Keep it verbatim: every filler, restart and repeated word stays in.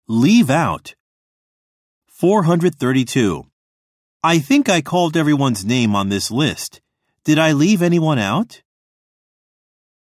Leave out. four hundred thirty-two. I think I called everyone's name on this list. Did I leave anyone out?